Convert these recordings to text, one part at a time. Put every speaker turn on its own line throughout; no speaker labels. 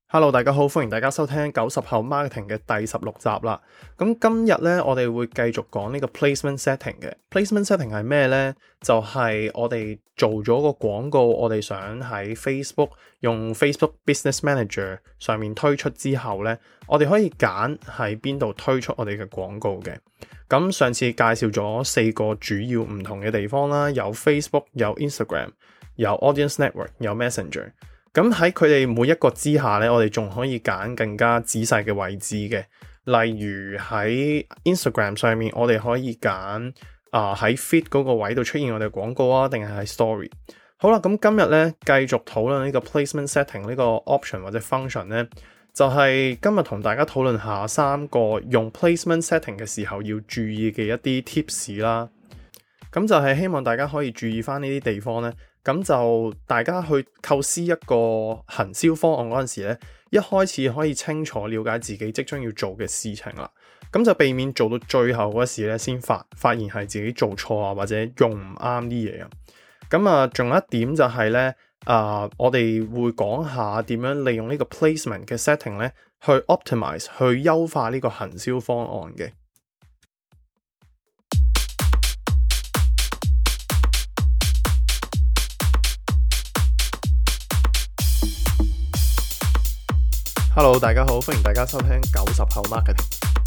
Hello，大家好，歡迎大家收聽90後 marketing 嘅第16集啦。咁今日咧，我哋會繼續講呢個 placement setting 嘅。placement setting 係咩呢？就係我哋做咗個廣告，我哋想喺 Facebook 用 Facebook Business Manager 上面推出之後呢，我哋可以揀喺邊度推出我哋嘅廣告嘅。咁上次介紹咗4個主要唔同嘅地方啦，有 Facebook、有 Instagram、有 Audience Network、有 Messenger。咁喺佢哋每一個之下咧，我哋仲可以揀更加仔細嘅位置嘅。例如喺 Instagram 上面，我哋可以揀喺 feed 嗰個位度出現我哋嘅廣告啊，定係喺 story。好啦，咁今日咧繼續討論呢個 placement setting 呢個 option 或者 function 咧，就係今日同大家討論下3個用 placement setting 嘅時候要注意嘅一啲 tips 啦。咁就係希望大家可以注意翻呢啲地方咧。咁就大家去構思一個行銷方案嗰陣時咧，一開始可以清楚了解自己即將要做嘅事情啦。咁就避免做到最後嗰時咧，先發現係自己做錯啊，或者用唔啱啲嘢啊。咁仲有一點就係咧，我哋會講下點樣利用呢個 placement 嘅 setting 咧，去 optimize 去優化呢個行銷方案嘅。Hello， 大家好，歡迎大家收聽90後 marketing。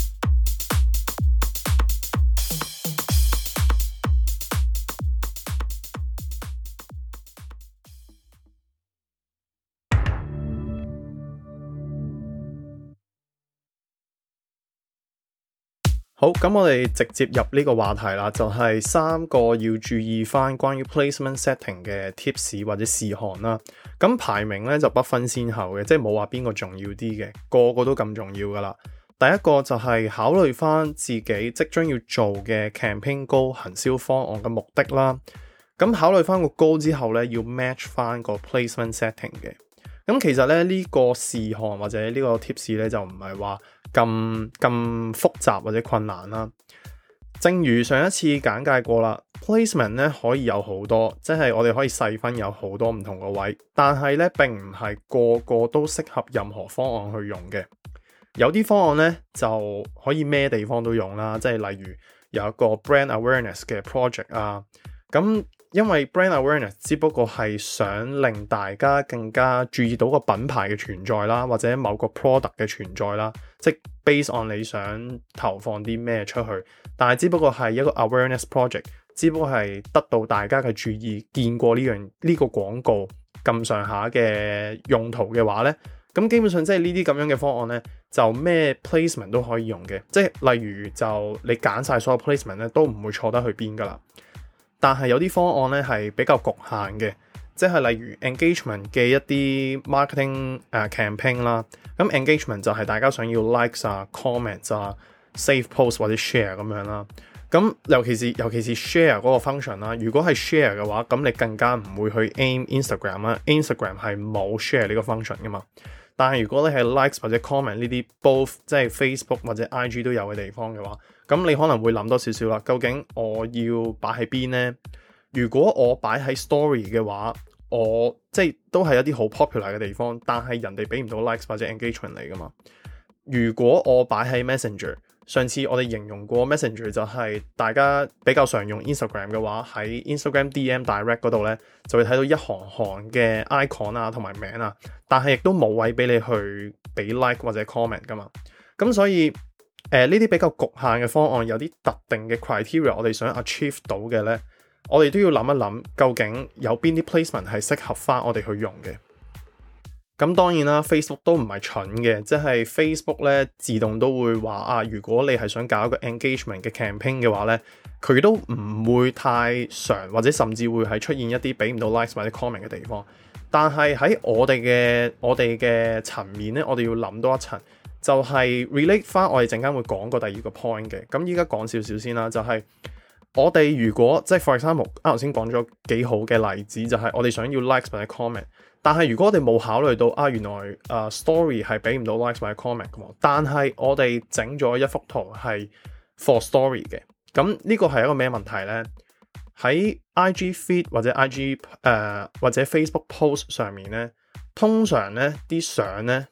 好，咁我哋直接入呢個話題啦，就係3個要注意翻關於 placement setting 嘅 tips 或者事項啦。咁排名咧就不分先後嘅，即係冇話邊個重要啲嘅，個個都咁重要噶啦。第一個就係考慮翻自己即將要做嘅 campaign goal 行銷方案嘅目的啦。咁考慮翻個 goal 之後咧，要 match 翻個 placement setting 嘅。咁其實咧呢個事項或者呢個 tips 咧就唔係話咁複雜或者困難啦。正如上一次簡介過啦， placement 咧可以有好多，即係我哋可以細分有好多唔同個位，但係咧並唔係個個都適合任何方案去用嘅。有啲方案咧就可以咩地方都用啦，即係例如有一個 brand awareness 嘅 project 啊，咁因為 brand awareness 只不過係想令大家更加注意到個品牌嘅存在啦，或者某個 product 嘅存在啦，即係 based on 你想投放啲咩出去，但係只不過係一個 awareness project， 只不過係得到大家嘅注意，見過呢個廣告咁上下嘅用途嘅話咧，咁基本上即係呢啲咁樣嘅方案咧，就咩 placement 都可以用嘅，即係例如就你揀晒所有 placement 咧，都唔會錯得去邊噶啦。但係有啲方案咧係比較局限嘅，即係例如 engagement 嘅一啲 marketing campaign 啦。咁 engagement 就係大家想要 likes 啊、comments 啊、save post 或者 share 咁樣啦。咁尤其是 share 嗰個 function 啦，如果係 share 嘅話，咁你更加唔會去 aim Instagram 啦。Instagram 係冇 share 呢個 function 噶嘛。但係如果你係 likes 或者 comment 呢啲 both 即係 Facebook 或者 IG 都有嘅地方嘅話，咁你可能會諗多少少啦。究竟我要擺喺邊呢？如果我擺喺 story 嘅話，我即係都係一啲好 popular 嘅地方，但係人哋俾唔到 likes 或者 engagement 嚟噶嘛。如果我擺喺 Messenger， 上次我哋形容過 Messenger 就係大家比較常用 Instagram 嘅話，喺 Instagram DM Direct 嗰度咧，就會睇到一行行嘅 icon 啊同埋名啊，但係亦都冇位俾你去俾 like 或者 comment 噶嘛。咁所以呢啲比較局限嘅方案，有啲特定嘅 criteria 我哋想 achieve 到嘅咧，我哋都要諗一諗，究竟有邊啲 placement 係適合翻我哋去用嘅。咁當然啦 ，Facebook 都唔係蠢嘅，即係 Facebook 咧自動都會話如果你係想搞一個 engagement 嘅 campaign 嘅話咧，佢都唔會太常或者甚至會係出現一啲俾唔到 likes 或者 comment 嘅地方。但係喺我哋嘅層面咧，我哋要諗多一層，就係 relate 翻我哋陣間會講過第二個 point 嘅。咁依家講少少先啦，就係我哋如果即係 for example，啱頭先講咗幾好嘅例子，就係我哋想要 likes 或者 comment。但係如果我哋冇考慮到原來story 係俾唔到 likes 或者 comment 嘅喎，但係我哋整咗一幅圖係 for story 嘅，咁呢個係一個咩問題呢？喺 IG feed 或者 IG 或者 Facebook post 上面呢，通常呢啲相呢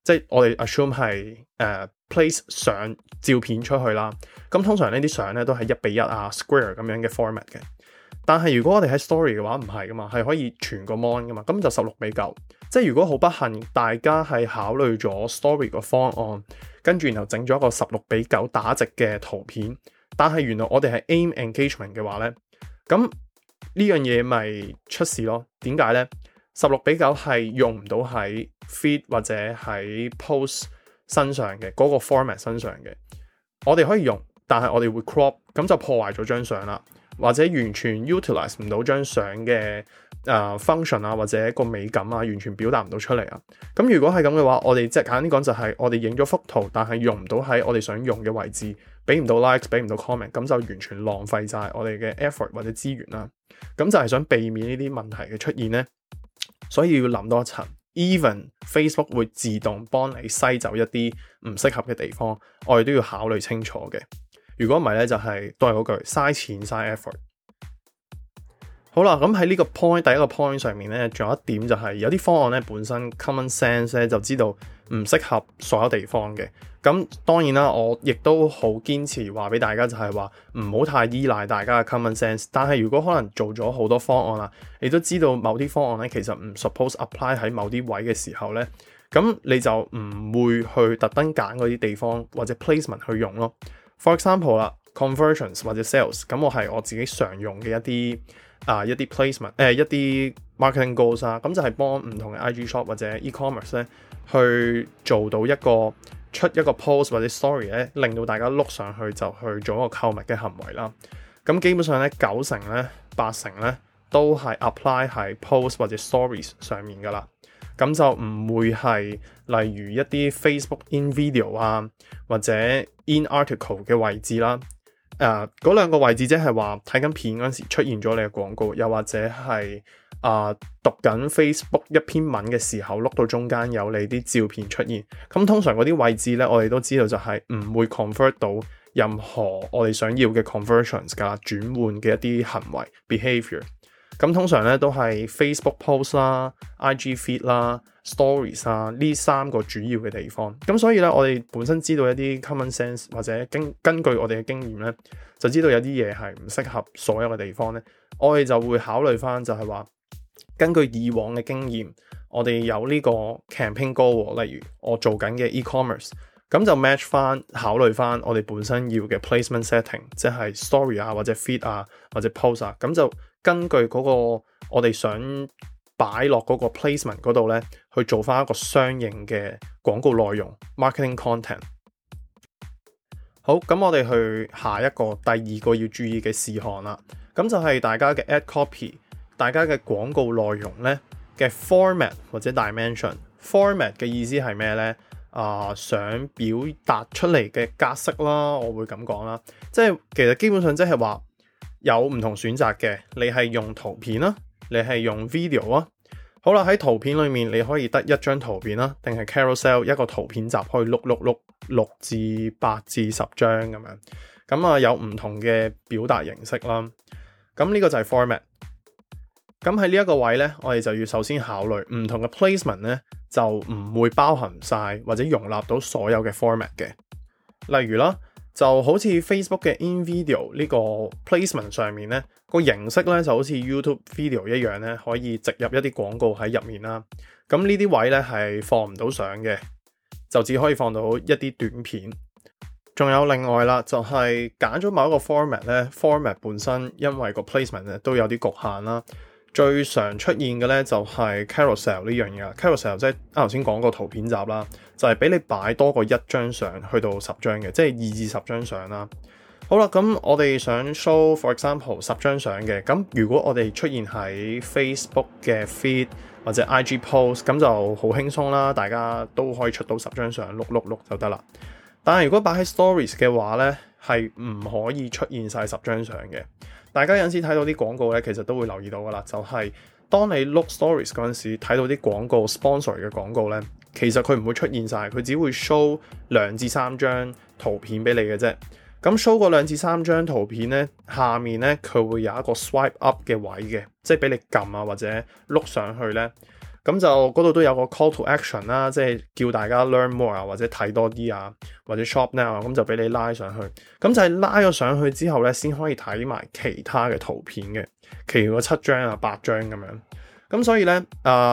即係我哋 assume 係place 相照片出去啦。咁通常呢啲相咧都係1:1啊 square 咁樣嘅 format 嘅。但係如果我哋喺 story 嘅話唔係噶嘛，係可以全個 mon 噶嘛，咁就16:9。即係如果好不幸大家係考慮咗 story 個方案，跟住然後整咗一個16:9打直嘅圖片，但係原來我哋係 aim engagement 嘅話咧，咁呢樣嘢咪出事咯？點解咧？16:9係用唔到喺 feed 或者喺 post 身上嘅嗰個 format 身上嘅。我哋可以用，但係我哋會 crop， 咁就破壞咗張相啦。或者完全 utilize 唔到張相嘅function 啊，或者個美感啊，完全表達唔到出嚟啊。咁如果係咁嘅話，我哋即係簡單啲講就係我哋影咗幅圖，但係用唔到喺我哋想用嘅位置，俾唔到 likes， 俾唔到 comment， 咁就完全浪費晒我哋嘅 effort 或者資源啦。咁就係想避免呢啲問題嘅出現呢，所以要諗多一層。Even Facebook 會自動幫你篩走一啲唔適合嘅地方，我哋都要考慮清楚嘅。如果唔係咧，就係都係嗰句嘥錢嘥 effort。好啦，咁喺呢個 point 第一個 point 上面咧，仲有一點就係有啲方案咧本身 common sense 咧就知道唔適合所有地方嘅。咁當然啦，我亦都好堅持話俾大家就係話唔好太依賴大家嘅 common sense。但係如果可能做咗好多方案啦，你都知道某啲方案咧其實唔 suppose apply 喺某啲位嘅時候咧，咁你就唔會去特登揀嗰啲地方或者 placement 去用咯。For example 啦 ，conversions 或者 sales， 咁我係我自己常用嘅一啲 placement， 一啲 marketing goals 啊，咁就係幫唔同嘅 IG shop 或者 e-commerce 咧去做到出一個 post 或者 story 咧，令到大家碌上去就去做一個購物嘅行為啦。咁基本上咧9成咧8成咧都係 apply 喺 post 或者 stories 上面噶啦。咁就唔會係例如一啲 Facebook in video 啊，或者 in article 嘅位置啦。嗰兩個位置即係話睇緊片嗰陣時出現咗你嘅廣告，又或者係讀緊 Facebook 一篇文嘅時候碌到中間有你啲照片出現。咁通常嗰啲位置咧，我哋都知道就係唔會 convert 到任何我哋想要嘅 conversions 㗎，轉換嘅一啲行為 behavior。咁通常咧都係 Facebook post 啦、IG feed 啦、stories 啊呢三個主要嘅地方。咁所以咧，我哋本身知道一啲 common sense 或者根據我哋嘅經驗咧，就知道有啲嘢係唔適合所有嘅地方咧。我哋就會考慮翻就係話，根據以往嘅經驗，我哋有呢個 campaign goal，例如我做緊嘅 e-commerce， 咁就 match 翻考慮翻我哋本身要嘅 placement setting， 即係 story 啊或者 feed 啊或者 post 啊，咁就根據嗰個我哋想擺落嗰個 placement 嗰度咧，去做翻一個相應嘅廣告內容 marketing content。好，咁我哋去下一個第二個要注意嘅事項啦。咁就係大家嘅 ad copy， 大家嘅廣告內容咧嘅 format 或者 dimension。format 嘅意思係咩咧？想表達出嚟嘅格式啦，我會咁講啦。即係其實基本上即係話有唔同選擇嘅，你係用圖片啦，你係用 video 啊。好啦，喺圖片裏面你可以得一張圖片啦，定係 carousel 一個圖片集可以碌6至8至10張咁樣。咁有唔同嘅表達形式啦。咁呢個就係 format。咁喺呢一個位咧，我哋就要首先考慮唔同嘅 placement 咧，就唔會包含晒或者容納到所有嘅 format 嘅。例如啦，就好似 Facebook 嘅 in video 呢個 placement 上面咧，個形式咧就好似 YouTube video 一樣咧，可以植入一啲廣告喺入面啦。咁呢啲位咧係放唔到相嘅，就只可以放到一啲短片。仲有另外啦，就係揀咗某一個 format 咧 ，format 本身因為個 placement 咧都有啲局限啦。最常出現嘅咧就係 carousel 呢樣嘢。carousel 即係頭先講個圖片集啦，就係俾你擺多過1張相去到10張嘅，即係2至10張相啦。好啦，咁我哋想 show for example 10張相嘅，咁如果我哋出現喺 Facebook 嘅 feed 或者 IG post， 咁就好輕鬆啦，大家都可以出到10張相，碌就得啦。但係如果擺喺 stories 嘅話咧，係唔可以出現晒10張相嘅。大家有陣時睇到啲廣告咧，其實都會留意到噶啦，就係當你 look stories 嗰陣時睇到啲廣告 sponsor 嘅廣告咧，其實佢唔會出現晒，佢只會 show 2至3張圖片俾你嘅啫。咁 show 個2至3張圖片咧，下面咧佢會有一個 swipe up 嘅位嘅，即係俾你撳啊或者碌上去咧。 咁就嗰度都有個 call to action 啦，即係叫大家 learn more 啊，或者睇多啲啊，或者 shop now 啊，咁就俾你拉上去。咁就係拉咗上去之後咧，先可以睇埋其他嘅圖片嘅，其餘嗰7張啊8張咁樣。咁所以咧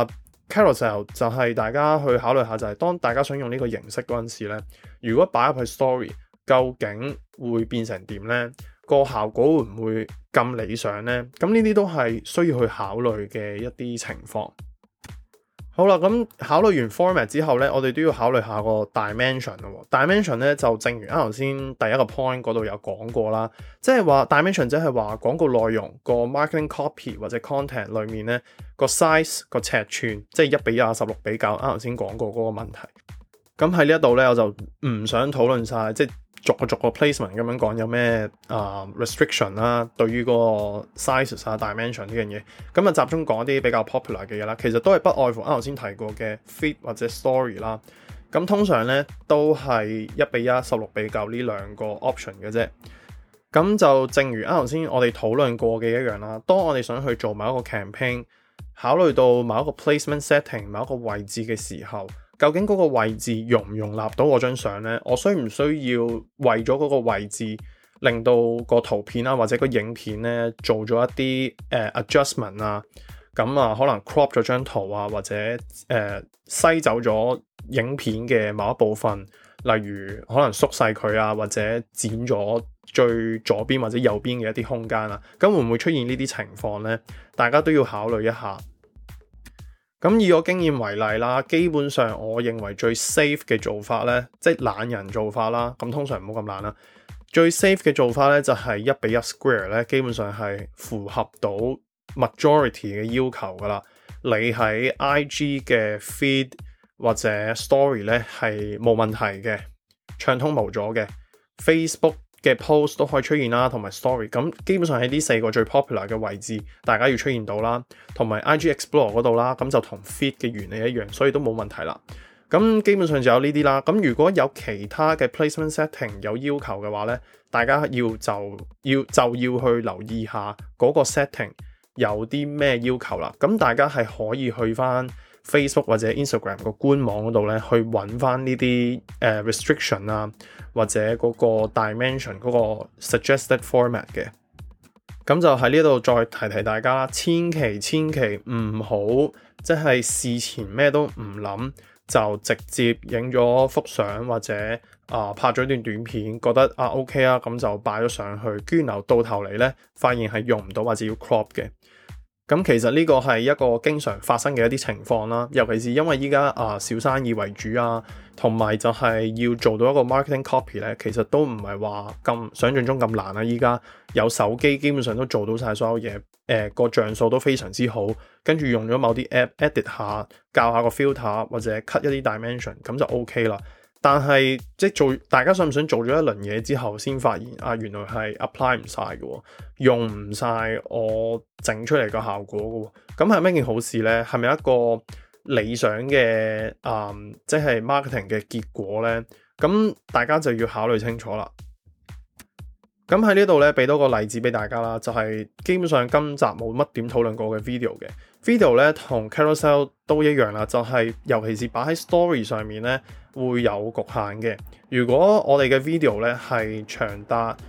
Carousel 就係大家去考慮下，就係當大家想用呢個形式嗰陣時咧，如果擺入去 story， 究竟會變成點咧？個效果會唔會咁理想咧？咁呢啲都係需要去考慮嘅一啲情況。好啦，咁考慮完 format 之後咧，我哋都要考慮下個 dimension 咯。dimension 咧就正如啱頭先第一個 point 嗰度有講過啦，即係話 dimension 即係話廣告內容個 marketing copy 或者 content 裏面咧個 size 個尺寸，即係1:16比9，啱頭先講過嗰個問題。咁喺呢一度咧，我就唔想討論晒，即係逐個 placement 咁樣講有咩restriction 啦，對於嗰個 sizes 啊 dimension 呢樣嘢，咁啊集中講一啲比較 popular 嘅嘢啦。其實都係不外乎啱頭先提過嘅 feed 或者 story 啦。咁通常咧都係1:1、16:9呢兩個 option 嘅啫。咁就正如啱頭先我哋討論過嘅一樣啦。當我哋想去做某一個 campaign， 考慮到某一個 placement setting 某一個位置嘅時候，究竟嗰個位置容唔容納到我張相呢？我需唔需要為咗嗰個位置令到個圖片啊或者個影片呢做咗一啲adjustment 啊？咁啊可能 crop 咗張圖啊，或者篩走咗影片嘅某一部分，例如可能縮細佢啊，或者剪咗最左邊或者右邊嘅一啲空間啊，咁會唔會出現呢啲情況呢？大家都要考慮一下。咁以我經驗為例啦，基本上我認為最 safe 嘅做法咧，即係懶人做法啦。咁通常唔好咁懶啦。最 safe 嘅做法咧就係1:1 square 咧，基本上係符合到 majority 嘅要求噶啦。你喺 IG 嘅 feed 或者 story 咧係冇問題嘅，暢通無阻嘅。Facebook 嘅 post 都可以出現啦，同埋 story， 咁基本上喺呢4個最 popular 嘅位置，大家要出現到啦，同埋 IG Explore 嗰度啦，咁就同 feed 嘅原理一樣，所以都冇問題啦。咁基本上就有呢啲啦。咁如果有其他嘅 placement setting 有要求嘅話咧，大家要去留意下嗰個 setting 有啲咩要求啦。咁大家係可以去翻 Facebook 或者 Instagram 個官網嗰度咧，去揾翻呢啲restriction 啊，或者嗰個 dimension 嗰個 suggested format 嘅。咁就喺呢度再提大家啦，千祈唔好即係事前咩都唔諗，就直接影咗幅相或者拍咗段短片，覺得OK啊，咁就擺咗上去，居然到頭嚟咧發現係用唔到或者要 crop 嘅。咁其實呢個係一個經常發生嘅一啲情況啦，尤其是因為依家小生意為主啊，同埋就係要做到一個 marketing copy 咧，其實都唔係話咁想象中咁難啦。依家有手機基本上都做到晒所有嘢，個像素都非常之好，跟住用咗某啲 app edit 下，校下個 filter 或者 cut 一啲 dimension， 咁就 OK 啦。但係即係大家想唔想做咗一輪嘢之後，先發現原來係 apply 唔晒嘅，用唔晒我整出嚟個效果嘅，咁係咩件好事呢？係咪一個理想嘅即係 marketing 嘅結果呢？咁大家就要考慮清楚啦。咁喺呢度咧，俾多個例子俾大家啦，就係基本上今集冇乜點討論過嘅 video 嘅 video 咧，同 carousel 都一樣啦，就係尤其是擺喺 story 上面咧，會有局限嘅。如果我哋嘅 video 咧係長達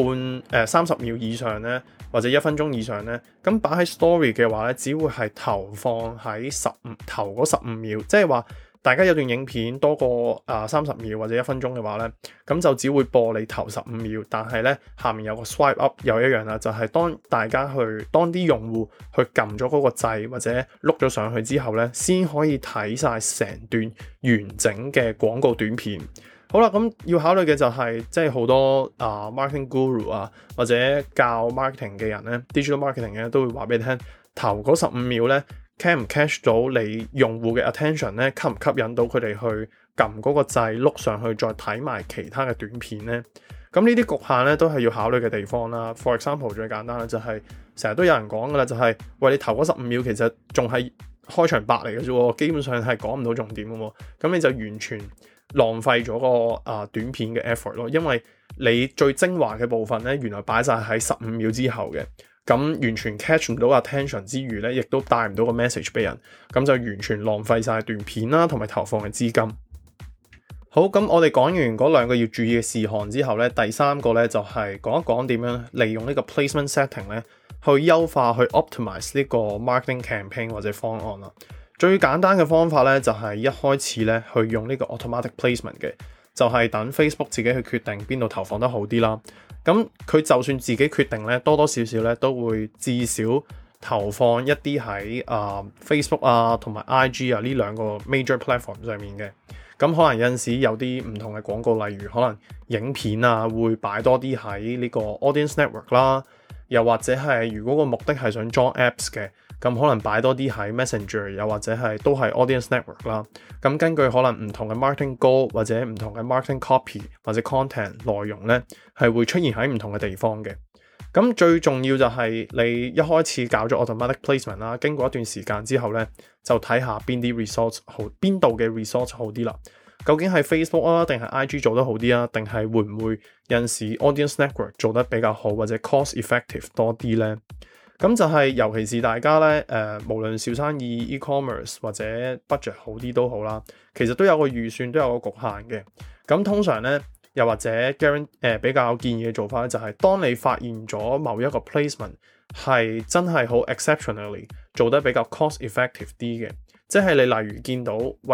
30秒以上咧，或者1分鐘以上咧，咁擺喺 story 嘅話咧，只會係投放喺頭嗰15秒，即係話大家有段影片多過30秒或者1分鐘嘅話咧，咁就只會播你頭15秒，但係咧下面有個 swipe up 又一樣啦，就係當啲用戶去撳咗嗰個掣或者碌咗上去之後咧，先可以睇晒成段完整嘅廣告短片。好啦，咁要考慮嘅就係即係好多marketing guru 啊，或者教 marketing 嘅人咧 ，digital marketing 嘅都會話俾你聽，頭嗰15秒咧 catch 唔 catch 到你用戶嘅 attention 咧，吸唔吸引到佢哋去撳嗰個掣碌上去，再睇埋其他嘅短片咧。咁呢啲局限咧都係要考慮嘅地方啦。For example 最簡單嘅就係成日都有人講噶啦，就係喂，你頭嗰15秒其實仲係開場白嚟嘅啫，基本上係講唔到重點嘅喎，咁你就完全浪費咗個短片嘅 effort 咯，因為你最精華嘅部分咧，原來擺晒喺15秒之後嘅。 咁完全 catch 唔到 attention 之餘咧，亦都帶唔到個 message 俾人，咁就完全浪費晒段片啦，同埋投放嘅資金。好，咁我哋講完嗰兩個要注意嘅事項之後咧，第三個咧就係講一講點樣利用呢個 placement setting 咧，去優化去 optimize 呢個 marketing campaign 或者方案啦。最簡單嘅方法咧就係一開始咧去用呢個 automatic placement 嘅，就係等 Facebook 自己去決定邊度投放得好啲啦。咁佢就算自己決定咧，多多少少咧都會至少投放一啲喺Facebook 啊同埋 IG 啊呢兩個 major platform 上面嘅。咁可能有陣時有啲唔同嘅廣告，例如可能影片啊會擺多啲喺呢個 audience network 啦，又或者係如果個目的係想裝 apps 嘅，咁可能擺多啲喺 Messenger， 又或者係都係 audience network 啦。咁根據可能唔同嘅 marketing goal 或者唔同嘅 marketing copy 或者 content 內容咧，係會出現喺唔同嘅地方嘅。咁最重要就係你一開始搞咗 automatic placement 啦，經過一段時間之後咧，就睇下邊啲 results 好，邊度嘅 results 好啲啦。究竟係 Facebook 啊，定係 IG 做得好啲啊？定係會唔會有陣時 audience network 做得比較好，或者 cost effective 多啲咧？咁就係尤其是大家咧，無論小生意 e-commerce 或者 budget 好啲都好啦，其實都有個預算，都有個局限嘅。咁通常咧，又或者比較建議嘅做法咧，就係當你發現咗某一個 placement 係真係好 exceptionally 做得比較 cost effective 啲嘅，即係你例如見到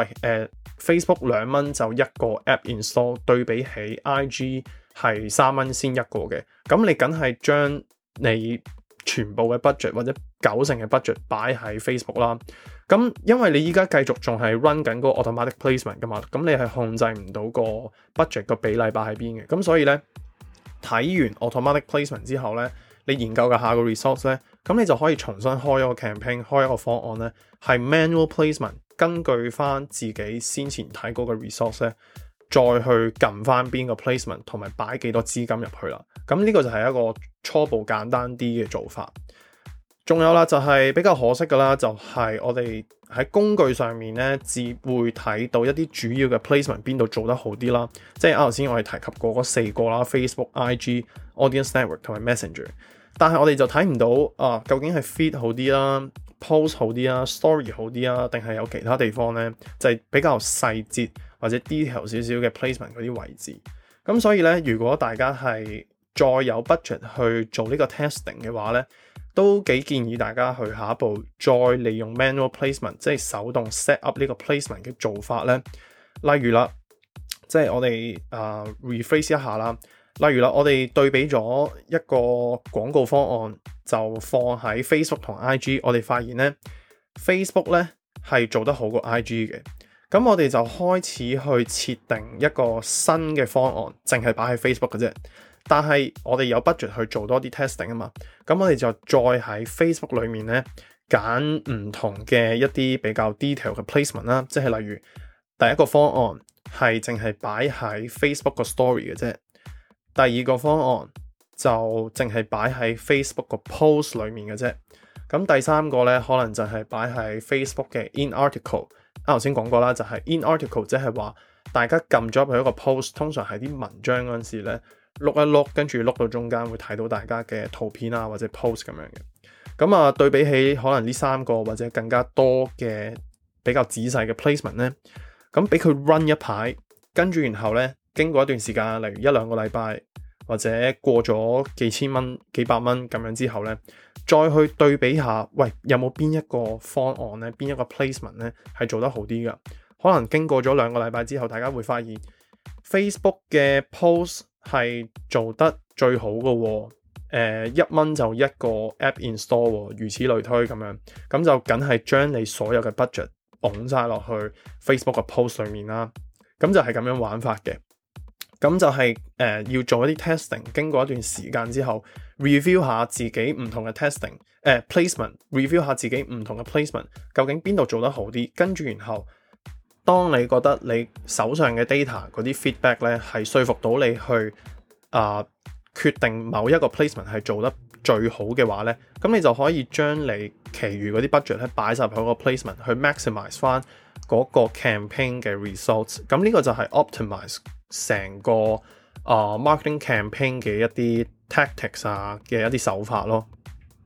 Facebook 2蚊就一個 app install， 對比起 IG 係3蚊先一個嘅，咁你梗係將你全部嘅 budget 或者90%嘅 budget 擺喺 Facebook 啦。咁因為你依家繼續仲係 run 緊嗰個 automatic placement 噶嘛，咁你係控制唔到個 budget 個比例擺喺邊嘅。咁所以咧，睇完 automatic placement 之後咧，你研究嘅下個 resource 咧，咁你就可以重新開一個 campaign， 開一個方案咧，係 manual placement， 根據翻自己先前睇嗰個 resource 咧，再去撳翻邊個 placement 同埋擺幾多資金入去啦。咁呢個就係一個初步簡單啲嘅做法。仲有啦，就係比較可惜噶啦，就係我哋喺工具上面咧，只會睇到一啲主要嘅 placement 邊度做得好啲啦。即係啱頭先我哋提及過嗰4個啦 ，Facebook、IG、Audience Network 同埋 Messenger。但係我哋就睇唔到究竟係 feed 好啲啦、post 好啲啦、story 好啲啊，定係有其他地方咧，就係比較細節或者 detail 少少嘅 placement 嗰啲位置。咁所以咧，如果大家係再有 budget 去做呢個 testing 嘅話咧，都幾建議大家去下一步再利用 manual placement， 即係手動 set up 呢個 placement 嘅做法咧。例如啦，即係我哋rephrase 一下啦。例如啦，我哋對比咗一個廣告方案，就放喺 Facebook 同 IG， 我哋發現咧 Facebook 咧係做得好過 IG 嘅。咁我哋就開始去設定一個新嘅方案，淨係擺喺 Facebook 嘅啫。但係我哋有 budget 去做多啲 testing 啊嘛，咁我哋就再喺 Facebook 裏面咧揀唔同嘅一啲比較 detail 嘅 placement 啦，即係例如第一個方案係淨係擺喺 Facebook 個 story 嘅啫，第二個方案就淨係擺喺 Facebook 個 post 裏面嘅啫，咁第三個咧可能就係擺喺 Facebook 嘅 in article。啱頭先講過啦，就係 in article 即係話大家撳咗入去一個 post， 通常係啲文章嗰陣時咧。碌一碌，跟住碌到中間會睇到大家嘅圖片啊，或者 post 咁樣嘅。咁對比起可能呢3個或者更加多嘅比較仔細嘅 placement 咧，咁俾佢 run 一排，跟住然後咧經過一段時間，例如1-2個禮拜或者過咗幾千蚊、幾百蚊咁樣之後咧，再去對比下，喂，有冇邊一個方案咧，邊一個 placement 咧係做得好啲噶？可能經過咗2個禮拜之後，大家會發現 Facebook 嘅 post係做得最好嘅喎，1蚊就一個 app install 喎，如此類推咁樣，咁就梗係將你所有嘅 budget 拱晒落去 Facebook 嘅 post 裏面啦，咁就係咁樣玩法嘅。咁就係要做一啲 testing， 經過一段時間之後 review 下自己唔同嘅 testing placement， review 下自己唔同嘅 placement 究竟邊度做得好啲，跟住然後當你覺得你手上嘅 data 嗰啲 feedback 咧係說服到你去決定某一個 placement 係做得最好嘅話咧，咁你就可以將你其餘嗰啲 budget 咧擺晒入去個 placement 去 maximize 翻嗰個 campaign 嘅 results。咁呢個就係 optimize 成個marketing campaign 嘅一啲 tactics 嘅一啲手法咯。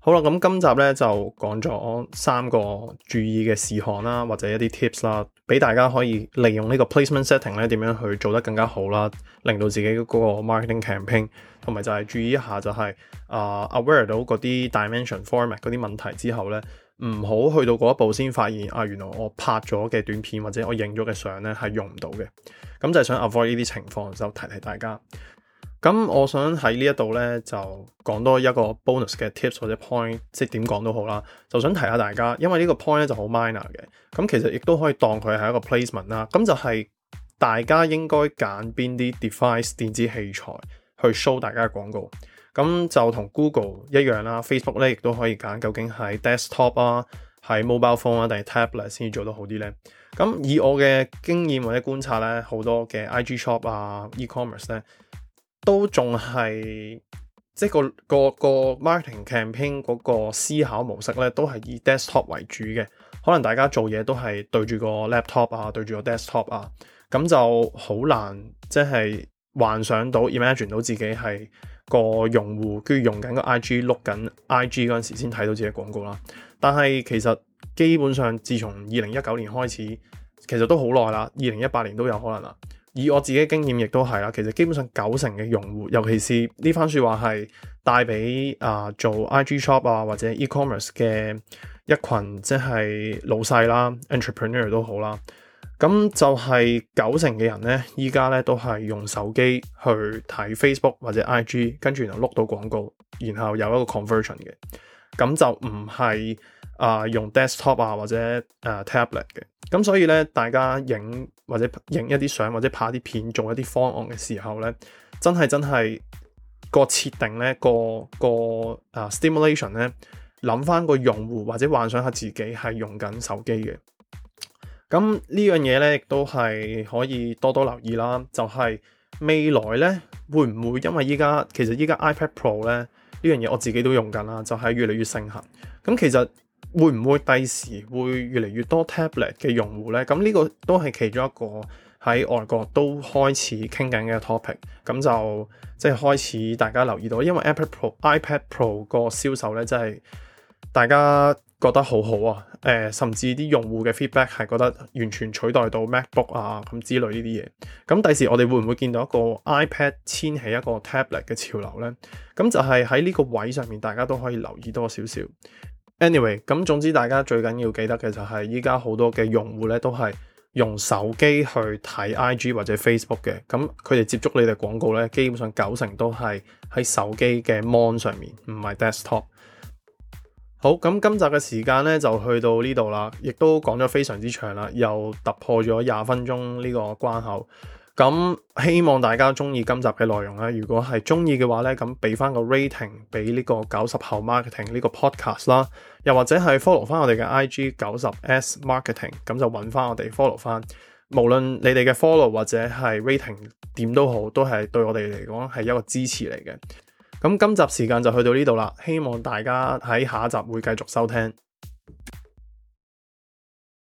好啦，咁今集咧就講咗3個注意嘅事項啦，或者一啲 tips 啦，俾大家可以利用呢個 placement setting 咧點樣去做得更加好啦，令到自己嗰個 marketing campaign， 同埋就係注意一下就係aware 到嗰啲 dimension format 嗰啲問題之後咧，唔好去到嗰一步先發現原來我拍咗嘅短片或者我影咗嘅相咧係用唔到嘅，咁就係想 avoid 呢啲情況，就提大家。咁我想喺呢一度咧就講多一個 bonus 嘅 tips 或者 point， 即係點講都好啦，就想提下大家，因為呢個 point 咧就好 minor 嘅，咁其實亦都可以當佢係一個 placement 啦。咁就係大家應該揀邊啲 device 電子器材去 show 大家嘅廣告。咁就同 Google 一樣啦 ，Facebook 咧亦都可以揀究竟係 desktop 啊，係 mobile phone 啊，定係 tablet 先至做得好啲咧。咁以我嘅經驗或者觀察咧，好多嘅 IG shop 啊 e-commerce 咧，都仲係即係個 marketing campaign 嗰個思考模式咧，都係以 desktop 為主嘅。可能大家做嘢都係對住個 laptop 啊，對住個 desktop 啊，咁就好難即係幻想到 imagine 到自己係個用戶，跟住用緊個 IG 碌緊 IG 嗰陣時先睇到自己廣告啦。但係其實基本上自從2019年開始，其實都好耐啦，2018年都有可能啦。以我自己經驗亦都係啦，其實基本上90%嘅用戶，尤其是呢番說話係帶俾做 IG shop 啊或者 e-commerce 嘅一群即係老細啦 entrepreneur 都好啦，咁就係90%嘅人咧，依家咧都係用手機去睇 Facebook 或者 IG， 跟住然後碌到廣告，然後有一個 conversion 嘅，咁就唔係用 desktop 啊或者tablet 嘅。咁所以咧，大家影或者影一啲相或者拍啲片做一啲方案嘅時候咧，真係個設定咧個stimulation 咧，諗翻個用戶或者幻想下自己係用緊手機嘅。咁呢樣嘢咧，亦都係可以多多留意啦。就係未來咧，會唔會因為其實依家 iPad Pro 咧呢樣嘢我自己都用緊啦，就係越嚟越盛行。咁其實會唔會第時會越嚟越多 tablet 嘅用戶呢？咁呢個都係其中一個喺外國都開始傾緊嘅 topic。咁就即係開始大家留意到，因為 iPad Pro 個銷售呢，真係大家覺得好好啊！甚至啲用戶嘅 feedback 係覺得完全取代到 MacBook 啊咁之類呢啲嘢。咁第時我哋會唔會見到一個 iPad 掀起一個 tablet 嘅潮流呢？咁就係喺呢個位上面，大家都可以留意多少少。Anyway， 咁總之大家最緊要記得嘅就係依家好多嘅用戶咧都係用手機去睇 IG 或者 Facebook 嘅，咁佢哋接觸你哋廣告咧，基本上90%都係喺手機嘅 mon 上面，唔係 desktop。好，咁今集嘅時間咧就去到呢度啦，亦都講咗非常之長啦，又突破咗20分鐘呢個關口。咁希望大家中意今集嘅內容啦，如果係中意嘅話咧，咁俾翻個 rating 俾呢個90後 marketing 呢個 podcast 啦，又或者係 follow 翻我哋嘅 IG 90S marketing， 咁就揾翻我哋 follow 翻。無論你哋嘅 follow 或者係 rating 點都好，都係對我哋嚟講係一個支持嚟嘅。咁今集時間就去到呢度啦，希望大家喺下一集會繼續收聽。